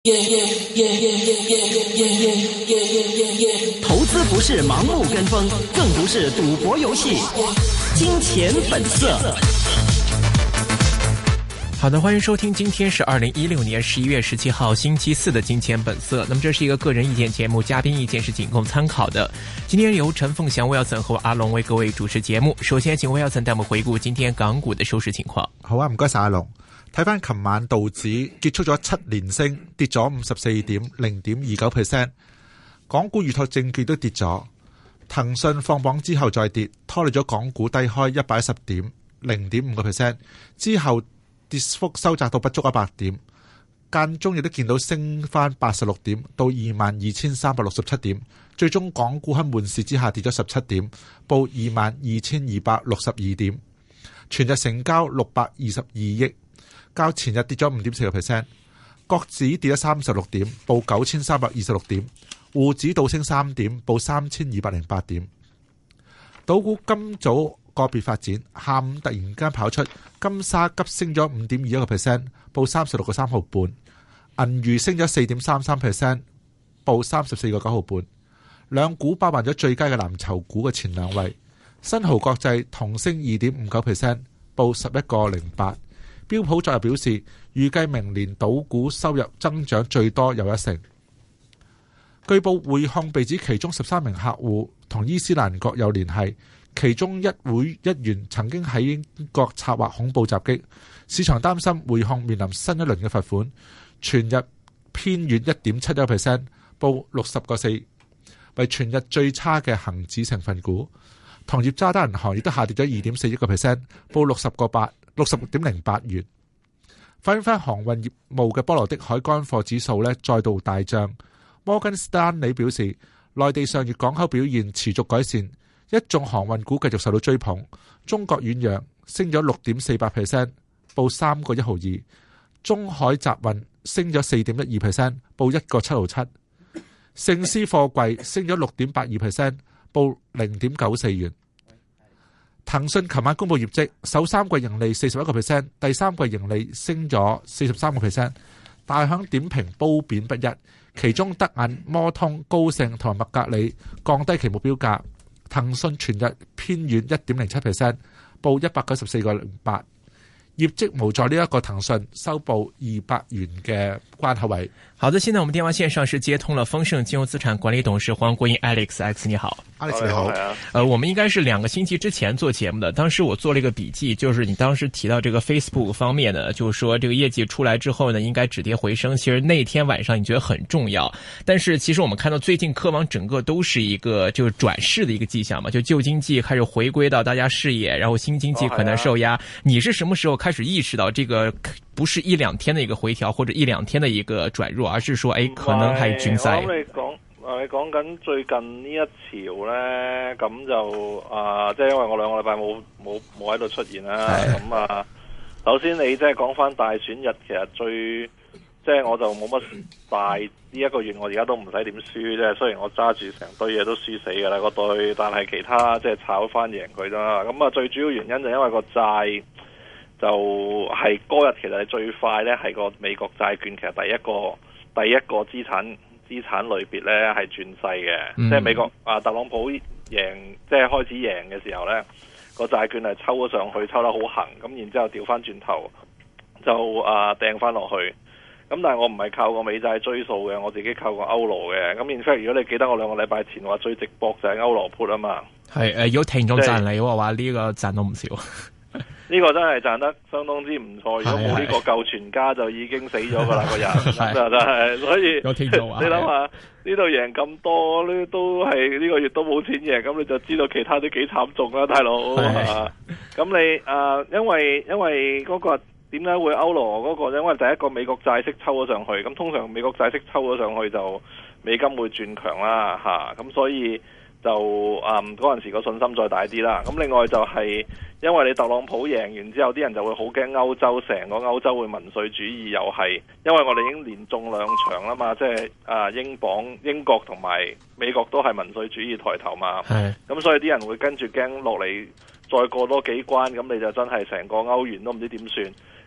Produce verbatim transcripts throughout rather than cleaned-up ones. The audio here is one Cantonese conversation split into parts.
投資不是盲目跟風，更不是賭博遊戲。金錢本色。好的，歡迎收聽，今天是二零一六年十一月十七號星期四的金錢本色。那麼這是一個個人意見節目，嘉賓意見是僅供參考的。今天由陳鳳祥 Wilson 和阿龍為各位主持節目。首先請 Wilson 帶我們回顧今天港股的收市情況。 好啊，唔該晒阿龍。睇翻琴晚道指結束咗七連升，跌咗五十四點零點二九 percent。港股預託證券都跌咗，騰訊放榜之後再跌，拖累咗港股低開一百一十點零點五個 percent， 之後跌幅收窄到不足一百點，間中亦都見到升翻八十六點到二萬二千三百六十七點，最終港股喺悶市之下跌咗十七點，報二萬二千二百六十二點，全日成交六百二十二億。較前日跌咗五點四個 percent， 國指跌咗三十六點，報九千三百二十六點，滬指倒升三點，報三千二百零八點。賭股今早個別發展，下午突然間跑出，金沙急升咗五點二一個 percent， 報三十六個三毫半；銀娛升咗四點三三 percent， 報三十四個九毫半。兩股包辦咗最佳嘅藍籌股嘅前兩位，新濠國際同升二點五九 percent， 報十一個零八。標普昨日表示，預計明年賭股收入增長最多有一成。據報匯控被指其中十三名客戶同伊斯蘭國有聯繫，其中一會一員曾經喺英國策劃恐怖襲擊，市場擔心匯控面臨新一輪嘅罰款，全日偏軟一點七一 percent， 報六十個四，為全日最差嘅恒指成分股。同業渣打銀行亦都下跌咗二點四一個 percent， 報六十個八。六十六點零八元。反映翻航運業務嘅波羅的海乾貨指數咧再度大漲。摩根士丹利表示，內地上月港口表現持續改善，一眾航運股繼續受到追捧。中國遠洋升咗六點四八 percent， 報三個一毫二。中海集運升咗四點一二 percent， 報一個七毫七。盛獅貨櫃升咗六點八二 percent， 報零點九四元。騰訊琴晚公布業績，首三季盈利四十一個 percent， 第三季盈利升咗四十三個 percent， 大響點評褒貶不一。其中德銀、摩通、高盛同埋麥格里降低其目標價，騰訊全日偏軟一點零七 percent， 報一百九十四個零八。業績無助呢一個騰訊收報二百元嘅關口位。 好的，現在我們電話線上是接通了豐盛金融資產管理董事黃國英 Alex，Alex 你好。 Alex 你好。 呃，我們應該是兩個星期之前做節目的，當時我做了一個筆記，就是你當時提到這個 Facebook 方面呢，就是說這個業績出來之後呢，應該止跌回升。其實那天晚上你覺得很重要，但是其實我們看到最近科網整個都是一個就是轉勢的一個跡象嘛，就舊經濟開始回歸到大家視野，然後新經濟可能受壓。你是什麼時候開始意識到這個不是一兩天的一個回調或者一兩天的一個轉弱，而是說誒可能係轉勢？ 我諗你講，你講緊最近呢一潮呢，咁就啊，即係因為我兩個禮拜冇冇冇喺度出現啦。咁啊，首先你即係講翻大選日，其實最即係我就冇乜大呢一個月，我而家都唔使點輸啫。雖然我揸住成堆嘢都輸死㗎啦，個堆，但係其他即係炒翻贏佢啦。咁啊，最主要原因就因為個債。就係嗰日其實係最快呢，係個美國債券其實第一個第一個資產資產類別呢係轉勢嘅，嗯、即係美國啊特朗普贏即係開始贏嘅時候呢，個債券係抽咗上去，抽得好行，咁然之後調翻轉頭就啊掟翻落去，咁但係我唔係靠個美債追數嘅，我自己靠個歐羅嘅，咁 in fact 如果你記得我兩個禮拜前話最直博就係歐羅 put 啊嘛，係誒，如果聽眾讚你嘅話，呢個賺到唔少。 呢個真係賺得相當之唔錯，如果冇呢個救全家就已經死咗噶啦個人，真係，所以你諗下呢度贏咁多，呢都係呢個月都冇錢贏，咁你就知道其他都幾慘重啦，大佬。咁你啊、呃，因為因為嗰個點解會歐羅嗰個？因為第一個美國債息抽咗上去，咁通常美國債息抽咗上去就美金會轉強啦，吓、啊，咁所以就啊嗰陣時個信心再大啲啦。咁另外就係、是。因為你特朗普贏完之後，啲人就會好驚歐洲，成個歐洲會民粹主義又係，因為我哋已經連中兩場啦嘛，即係啊英鎊、英國同埋美國都係民粹主義抬頭嘛，咁所以啲人會跟住驚落嚟，再過多幾關，咁你就真係成個歐元都唔知點算。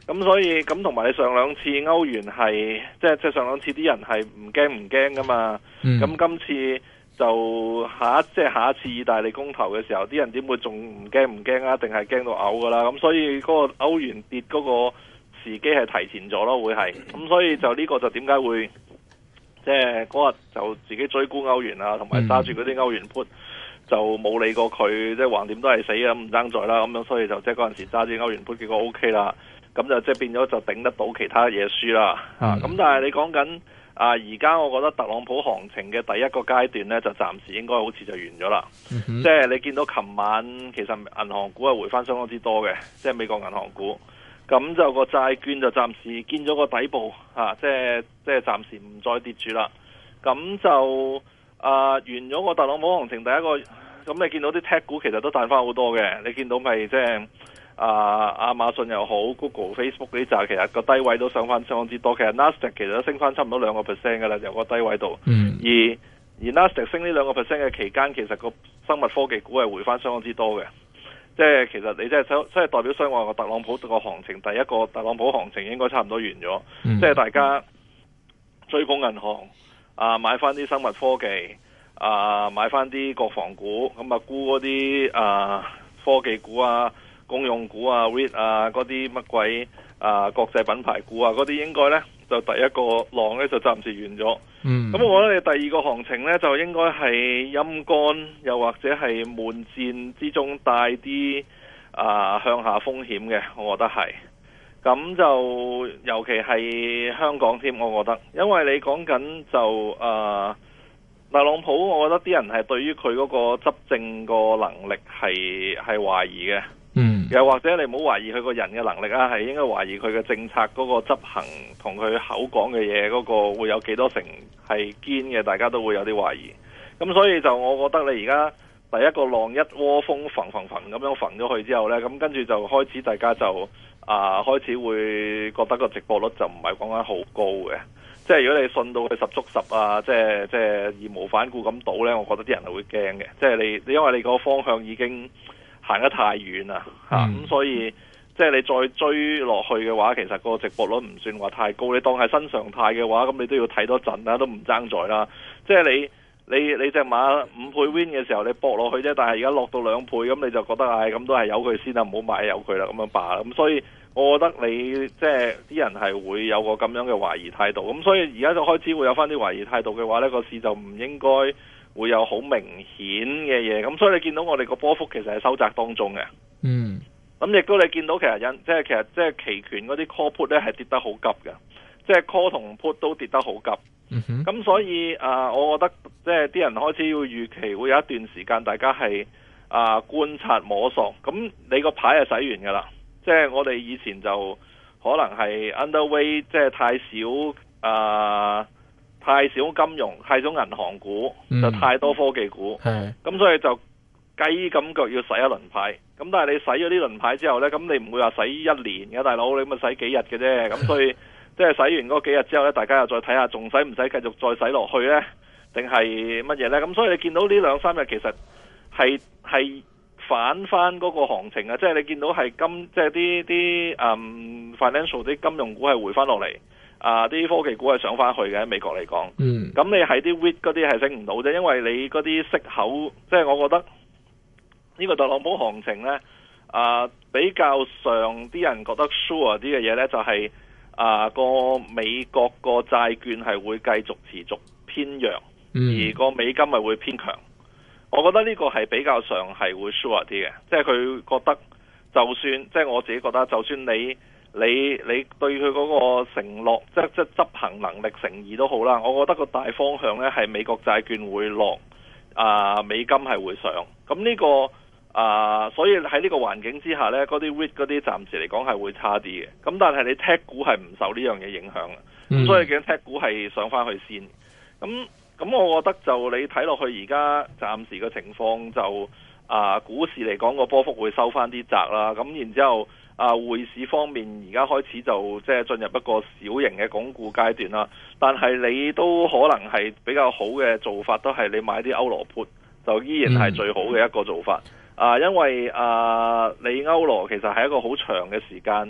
咁所以咁同埋你上兩次歐元係即係即係上兩次啲人係唔驚唔驚噶嘛，咁、嗯、今次就下一即係下一次意大利公投嘅時候，啲人點會仲唔驚唔驚啊？定係驚到嘔噶啦？咁所以嗰個歐元跌嗰個時機係提前咗咯，會係咁，所以就呢個就點解會即係嗰日就自己追沽歐元啊，同埋揸住嗰啲歐元 put。就冇理過佢，即係橫掂都係死啊，唔爭在啦，咁樣所以就即係嗰陣時揸住歐元盤結果 O K 啦，咁就即係變咗就頂得到其他嘢輸啦，啊、嗯，咁但係你講緊啊，而家我覺得特朗普行情嘅第一個階段呢，就暫時應該好似就完咗啦，即係、嗯、你見到琴晚其實銀行股係回翻相當之多嘅，即係美國銀行股，咁就個債券就暫時見咗個底部，啊，即係即係暫時唔再跌住啦，咁就。啊，完咗個特朗普行情第一個，咁你見到啲 tech 股其實都彈翻好多嘅，你見到咪即係啊亞馬遜又好 ，Google、Facebook 嗰啲就其實個低位都上翻相當之多，其實 Nasdaq 其實都升翻差唔多兩個 percent 嘅啦，由個低位度。嗯。而而 Nasdaq 升呢兩個 percent 嘅期間，其實個生物科技股係回翻相當之多嘅，即係其實你即係即係代表雙話個特朗普個行情，第一個特朗普行情應該差唔多完咗，嗯、即係大家追捧銀行。啊，買翻啲生物科技，啊，買翻啲國防股，咁啊沽嗰啲啊科技股啊、公用股啊、R E I T 啊嗰啲乜鬼啊國際品牌股啊嗰啲應該呢，就第一個浪呢，就暫時完咗。嗯，咁我覺得你第二個行情呢，就應該係陰乾，又或者係悶戰之中帶啲啊向下風險嘅，我覺得係。咁就尤其係香港添，我覺得，因為你講緊就誒、呃、特朗普，我覺得啲人係對於佢嗰個執政個能力係係懷疑嘅，嗯，又或者你唔好懷疑佢個人嘅能力啊，係應該懷疑佢嘅政策嗰個執行同佢口講嘅嘢嗰個會有幾多成係堅嘅，大家都會有啲懷疑。咁所以就我覺得你而家第一個浪一窩蜂揈揈揈咁樣揈咗去之後呢，咁跟住就開始大家就。啊，開始會覺得個直播率就唔係講緊好高嘅，即係如果你信到佢十足十啊，即係即係義無反顧咁賭呢，我覺得啲人係會驚嘅。即係你，因為你個方向已經行得太遠啦，嚇、嗯，咁、啊、所以即係你再追落去嘅話，其實個直播率唔算話太高。你當係新常態嘅話，咁你都要睇多陣啦，都唔爭在啦。即係你你你隻馬五倍 win 嘅時候，你搏落去啫，但係而家落到兩倍，咁你就覺得唉，咁、哎、都係由佢先啦，唔好買由佢啦，咁樣罷啦。咁所以。我覺得你即係啲人係會有個咁樣嘅懷疑態度，咁所以而家就開始會有翻啲懷疑態度嘅話，呢個市就唔應該會有好明顯嘅嘢，咁所以你見到我哋個波幅其實係收窄當中嘅。嗯，咁亦都你見到其實因即係其實即係期權嗰啲 call put 咧係跌得好急嘅，即係 call 同 put 都跌得好急。嗯哼，咁所以啊、呃，我覺得即係啲人開始要預期會有一段時間大家係啊、呃、觀察摸索，咁你個牌係洗完噶啦。即係我哋以前就可能係 underweight，即係太少啊、呃，太少金融，太少銀行股，嗯、就太多科技股。咁的所以就雞咁腳要洗一輪牌。咁但係你洗咗呢輪牌之後呢，咁你唔會話洗一年嘅，大佬你咪洗幾日嘅啫。咁所以即係洗完嗰幾日之後呢，大家又再睇下，仲使唔使繼續再洗落去呢？定係乜嘢呢？咁所以你見到呢兩三日其實係係。反翻嗰個行情啊，即係你見到係金，即係啲啲嗯 financial 啲金融股係回翻落嚟，啊啲科技股係上翻去嘅喺美國嚟講。嗯，咁你係啲 R E I T 嗰啲係升唔到啫，因為你嗰啲息口，即係我覺得呢個特朗普行情呢，啊比較上啲人覺得 sure 啲嘅嘢呢，就係、是、啊個美國個債券係會繼續持續偏弱，嗯、而個美金係會偏強。我覺得呢個係比較上係會 sure 啲嘅，即係佢覺得就算即係我自己覺得，就算你你你對佢嗰個承諾，即係即係執行能力誠意都好啦。我覺得個大方向呢係美國債券會落，啊美金係會上。咁呢個啊，所以喺呢個環境之下呢，嗰啲 R E I T 嗰啲暫時嚟講係會差啲嘅。咁但係你 tech 股係唔受呢樣嘢影響嘅，咁、嗯、所以見 tech 股係上翻去先。咁咁我覺得就你睇落去而家暫時嘅情況就啊股市嚟講個波幅會收翻啲窄啦，咁然之後啊匯市方面而家開始就即係進入一個小型嘅鞏固階段啦，但係你都可能係比較好嘅做法都係你買啲歐羅 put 就依然係最好嘅一個做法、嗯、啊，因為啊你歐羅其實係一個好長嘅時間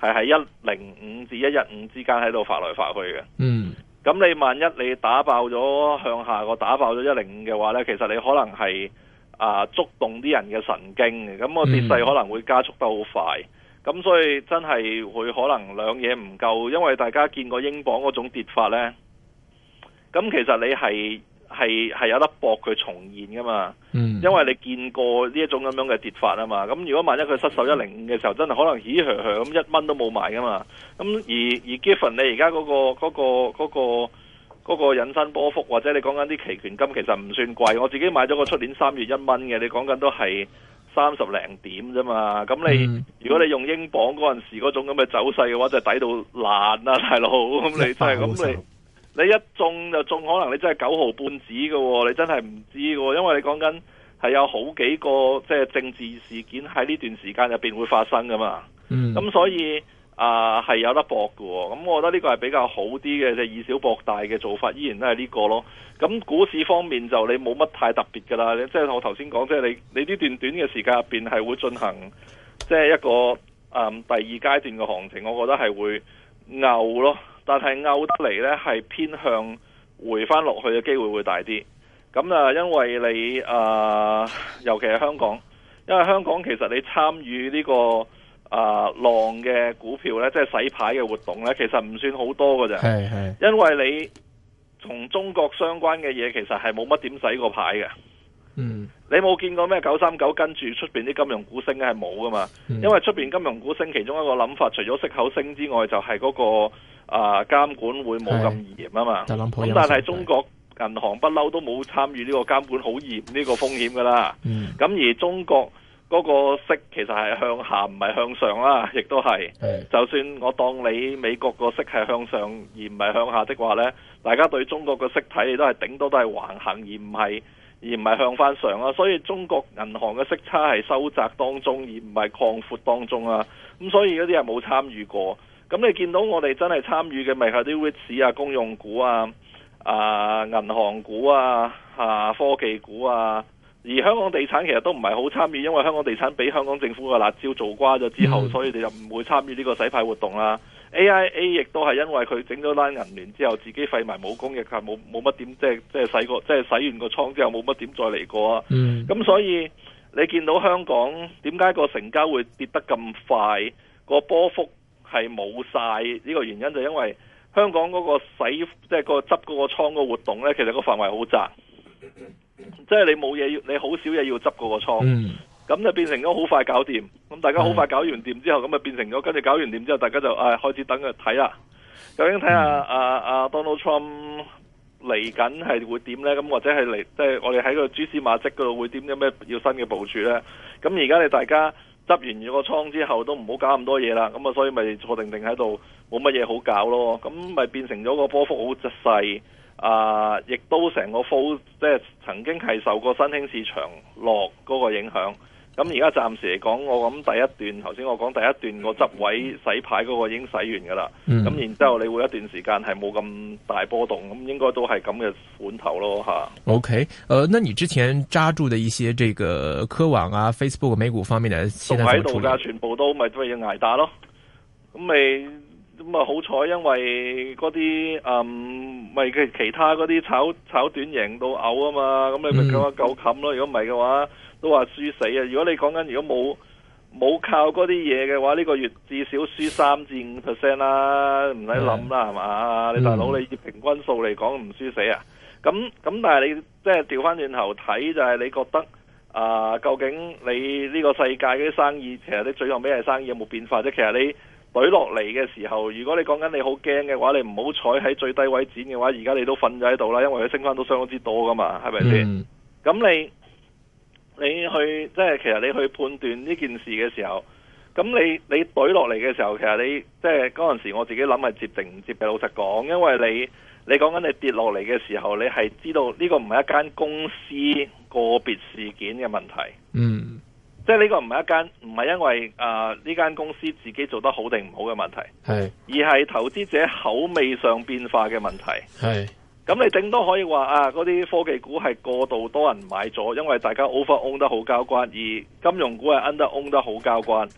係喺一零五至一一五之間喺度發來發去嘅。 嗯， 咁你萬一你打爆咗向下個打爆咗一零五嘅話呢，其實你可能係啊觸動啲人嘅神經嘅，咁個跌勢可能會加速得好快。咁、嗯、所以真係會可能兩嘢唔夠，因為大家見過英鎊嗰種跌法呢。咁其實你係係係有得搏佢重現噶嘛，嗯、因為你見過呢一種咁樣嘅跌法啊嘛。咁如果萬一佢失守一零五嘅時候，真係可能咦嘘嘘咁一蚊都冇埋噶嘛。咁而而 given 你而家嗰個嗰、嗰個嗰、嗰個嗰、嗰個引伸波幅，或者你講緊啲期權金其實唔算貴，我自己買咗個出年三月一蚊嘅，你講緊都係三十零點啫嘛。咁你、嗯、如果你用英鎊嗰陣時嗰種咁嘅走勢嘅話，就抵到爛啊大佬。咁你真係咁你。你一中就中，可能你真係九毫半紙嘅喎，你真係唔知嘅喎，因為你講緊係有好幾個即係政治事件喺呢段時間入邊會發生噶嘛。嗯，咁所以啊係、呃、有得搏嘅喎。咁我覺得呢個係比較好啲嘅，即係以小博大嘅做法，依然都係呢個咯。咁股市方面就你冇乜太特別㗎啦。即係我頭先講，即係你你呢段短嘅時間入邊係會進行即係一個啊、嗯、第二階段嘅行情，我覺得係會牛咯。但係拗得嚟呢，係偏向回翻落去嘅機會會大啲。咁啊，因為你啊、呃，尤其係香港，因為香港其實你參與呢、這個啊、呃、浪嘅股票呢，即係洗牌嘅活動呢，其實唔算好多㗎咋。係係。因為你同中國相關嘅嘢，其實係冇乜點洗過牌嘅。嗯。你冇見過咩九三九跟住出邊啲金融股升係冇噶嘛？嗯、因為出邊金融股升，其中一個諗法，除咗息口升之外，就係、是、嗰、那個。啊，監管會冇咁嚴啊嘛，咁、嗯、但係中國銀行不嬲都冇參與呢個監管好嚴呢個風險噶啦，咁、嗯、而中國嗰個息其實係向下唔係向上啦，亦都係，就算我當你美國個息係向上而唔係向下的話呢，大家對中國個息睇你都係頂多都係橫行而唔係而唔係向翻上啊，所以中國銀行嘅息差係收窄當中而唔係擴闊當中啊，咁所以嗰啲係冇參與過。咁你見到我哋真係參與嘅咪係啲 REITs 啊、公用股啊、啊銀行股啊、啊科技股啊，而香港地產其實都唔係好參與，因為香港地產俾香港政府嘅辣椒做瓜咗之後，嗯、所以你就唔會參與呢個洗牌活動啦。A I A 亦都係因為佢整咗單銀聯之後，自己廢埋武功，亦係冇冇乜點即係即係洗過，即係洗完個倉之後冇乜點再嚟過啊。咁、嗯、所以你見到香港點解個成交會跌得咁快，個波幅係冇晒呢個原因，就因為香港嗰個洗即係個執嗰個倉個活動呢，其實個範圍好窄，即係你冇嘢要，你好少嘢要執嗰個倉，咁、嗯、就變成咗好快搞掂。咁大家好快搞完掂之後，咁就變成咗跟住搞完掂之後，大家就誒、哎、開始等佢睇啦。究竟睇下阿阿 Donald Trump 嚟緊係會點呢？咁或者係嚟即係我哋喺個蛛絲馬跡嗰度會點？有咩要新嘅部署呢？咁而家你大家執完咗個倉之後都唔好搞咁多嘢啦，咁啊所以咪坐定定喺度冇乜嘢好搞咯，咁咪變成咗個波幅好細啊，亦都成個 fall 即係曾經係受過新興市場落嗰個影響。咁而家暫時嚟講，我諗第一段頭先我講第一段個執位洗牌嗰個已經洗完噶啦，咁、嗯、然之後你會一段時間係冇咁大波動，咁應該都係咁嘅款頭咯吓。OK，呃，那你之前揸住的一些這個科網啊、Facebook 美股方面嘅，仲喺度噶，全部都咪都係要挨打咯。咁咪咁啊好彩，因為嗰啲嗯咪其其他嗰啲炒炒短贏到嘔啊嘛，咁你咪夠一夠冚咯。如果唔係嘅話，都話輸死啊！如果你講緊如果冇冇靠嗰啲嘢嘅話，呢、這個月至少輸三至五 percent 啦，唔使諗啦，係嘛？你大佬你以平均數嚟講唔輸死啊！咁咁但係你即係調翻轉頭睇，就係、是、你覺得啊、呃，究竟你呢個世界嗰啲生意，其實你最後尾係生意有冇變化啫？其實你懟落嚟嘅時候，如果你講緊你好驚嘅話，你唔好彩喺最低位剪嘅話，而家你都瞓咗喺度啦，因為佢升翻都相當之多噶嘛，係咪先？咁、嗯、你。你去即係其實你去判斷呢件事嘅時候，咁你你懟落嚟嘅時候，其實你即係嗰陣時我自己諗係接定唔接嘅。老實講，因為你你講緊你跌落嚟嘅時候，你係知道呢個唔係一間公司個別事件嘅問題。嗯，即係呢個唔係一間唔係因為啊呢間公司自己做得好定唔好嘅問題，係而係投資者口味上變化嘅問題。係。咁你頂多可以話啊，嗰啲科技股係過度多人買咗，因為大家 over own 得好交關，而金融股係 under own 得好交關。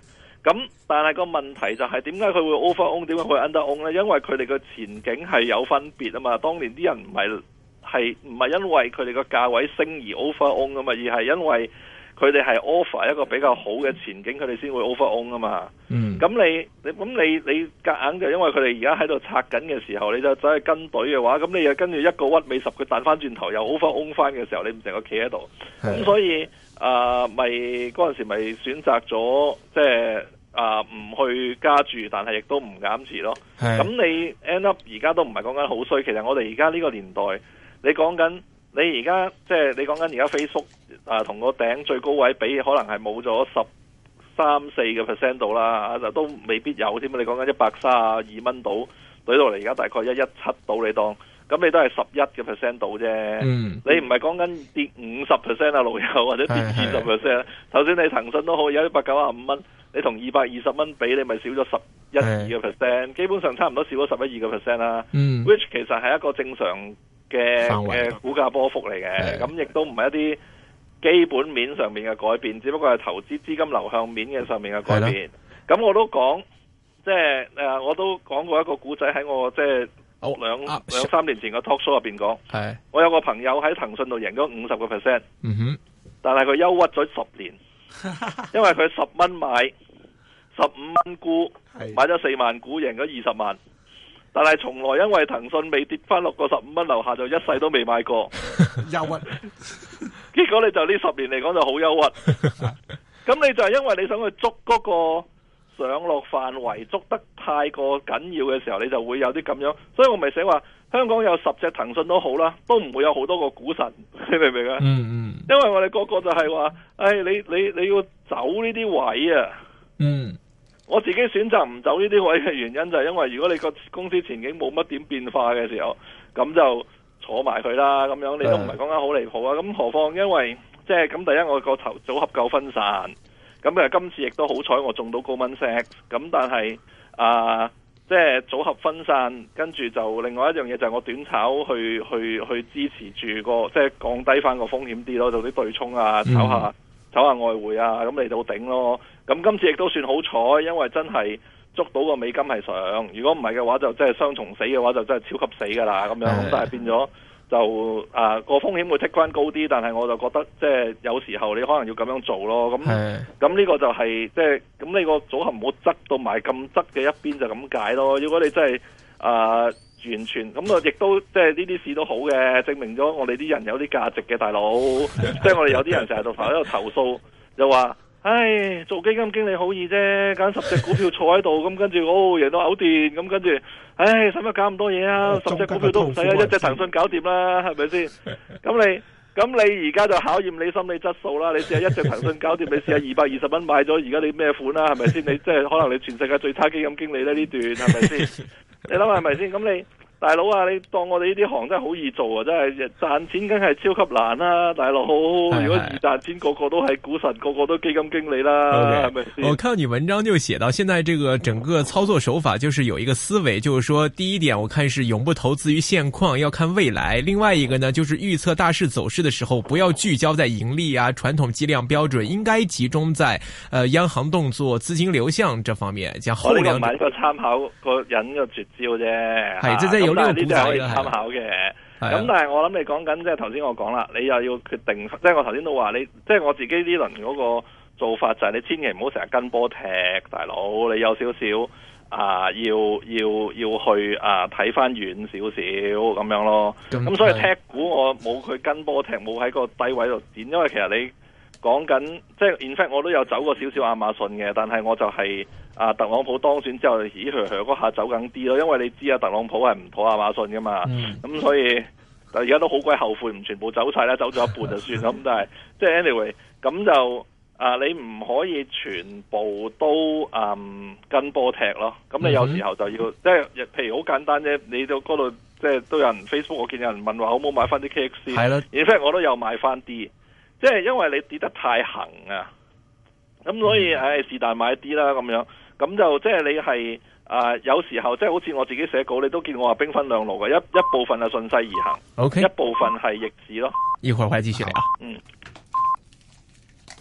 咁但係個問題就係點解佢會 over own， 點解佢會 under own 呢？因為佢哋個前景係有分別啊嘛。當年啲人唔係係唔係因為佢哋個價位升而 over own 啊嘛，而係因為佢哋係 offer 一個比較好嘅前景，佢哋先會 over own 啊嘛。嗯，咁你你咁你你夾硬就因為佢哋而家喺度拆緊嘅時候，你就走去跟隊嘅話，咁你又跟住一個屈尾十，佢彈翻轉頭又 over own 翻嘅時候，你唔成個企喺度。咁所以啊，咪嗰陣時咪選擇咗即係啊唔去加注，但係亦都唔減持咯。咁你 end up 而家都唔係講緊好衰，其實我哋而家呢個年代，你講緊。你而家即係你講緊而家 Facebook 啊，同個頂最高位比，可能係冇咗十三四個 percent 度啦，就都未必有添。你講緊一百三十二蚊度，對到嚟而家大概一一七度，你當咁你都係十一嘅 percent 度啫。嗯，你唔係講緊跌五十 percent 啊，老友或者跌二十 percent。頭先你騰訊都好，有一百九十五蚊，你同二百二十蚊比，你咪少咗十一二個 percent，基本上差唔多少咗十一二個 percent 啦。嗯 ，which 其實係一個正常嘅嘅股價波幅嚟嘅，咁亦都唔係一啲基本面上面嘅改變，只不過係投資資金流向面嘅上面嘅改變。咁我都講，即係誒，我都講過一個古仔喺我即係兩兩三年前嘅 talk show 入邊講。係，我有個朋友喺騰訊度贏咗五十個 percent， 嗯哼，但係佢憂鬱咗十年，因為佢十蚊買，十五蚊沽，買咗四萬股，贏咗二十萬。但係從來因為騰訊未跌翻落個十五蚊樓下，就一世都未買過，憂鬱。結果你就呢十年嚟講就好憂鬱。咁你就係因為你想去捉嗰個上落範圍，捉得太過緊要嘅時候，你就會有啲咁樣。所以我咪寫話，香港有十隻騰訊都好啦，都唔會有好多個股神，你明唔明啊？嗯嗯。因為我哋個個就係話，誒，你你你要走呢啲位啊。嗯。我自己選擇唔走呢啲位嘅原因就係因為如果你個公司前景冇乜點變化嘅時候，咁就坐埋佢啦，咁樣你都唔係講緊好離譜啊！咁何況因為即係咁，第一我個頭組合夠分散，咁誒今次亦都好彩我中到高蚊息，咁但係啊即係組合分散，跟住就另外一樣嘢就係我短炒去去去支持住個即係降低翻個風險啲咯，做啲對沖啊，炒下。炒下外匯啊，咁嚟到頂咯。咁今次亦都算好彩，因為真係捉到個美金係上。如果唔係嘅話，就真係雙重死嘅話，就真係超級死噶啦。咁樣咁，但係變咗就啊個風險會 take 翻高啲，但係我就覺得即係有時候你可能要咁樣做咯。咁咁呢個就係即係咁，你個組合唔好側到埋咁側嘅一邊就咁解咯。如果你真係啊〜完全咁啊！亦都即係呢啲事都好嘅，證明咗我哋啲人有啲價值嘅大佬。即係我哋有啲人成日度喺度投訴，就話：唉，做基金經理好易啫，揀十隻股票坐喺度，咁跟住哦贏到嘔電，咁跟住，唉，使乜搞咁多嘢啊？十隻股票都唔使啊，一隻騰訊搞掂啦，係咪先？咁你咁你而家就考驗你心理質素啦。你試下一隻騰訊搞掂，你試下二百二十蚊買咗，而家你咩款啦？係咪先？你即係可能你全世界最差基金經理咧呢段，係咪先？你諗下係咪先？咁你大佬啊，你當我哋呢啲行真係好易做啊！真係賺錢梗係超級難啦，大佬。如果易賺錢，個個都係股神，個個都基金經理啦，係咪先？ 我看到你文章就寫到，現在這個整個操作手法就是有一個思維，就是說第一點，我看是永不投資於現況，要看未來；另外一個呢，就是預測大勢走勢的時候，不要聚焦在盈利啊、傳統計量標準，應該集中在呃央行動作、資金流向這方面。講後兩者，我呢個唔係一個參考個人嘅絕招啫， 係即係。有呢個啲就可以參考嘅，咁但係我諗你講緊即係頭先我講啦，你又要決定，即係我頭先都話你，即係我自己呢輪嗰個做法就係你千祈唔好成日跟波踢，大佬你有少少啊，要要要去啊睇翻遠少少咁樣咯。咁所以踢股我冇佢跟波踢，冇喺個低位度剪，因為其實你講緊即係 in fact 我都有走過少少亞馬遜嘅，但係我就係、是。啊！特朗普當選之後，咦佢佢嗰下走緊啲咯，因為你知啊，特朗普係唔妥亞馬遜噶嘛，咁、嗯嗯、所以而家都好鬼後悔，唔全部走晒啦，走咗一半就算啦。咁但係即係 anyway，咁就啊，你唔可以全部都嗯跟波踢咯。咁你有時候就要、嗯、即係譬如好簡單啫，你到嗰度即係都有人 Facebook，我見有人問話好唔好買翻啲 K X C， 係啦，而且我都有買翻啲，即係因為你跌得太行啊，咁所以唉是但買啲啦咁樣。咁就即係你係啊、呃，有時候即係好似我自己寫稿，你都見我話兵分兩路嘅，一一部分係順勢而行， okay. 一部分係逆市咯。 一會兒會繼續聊。嗯。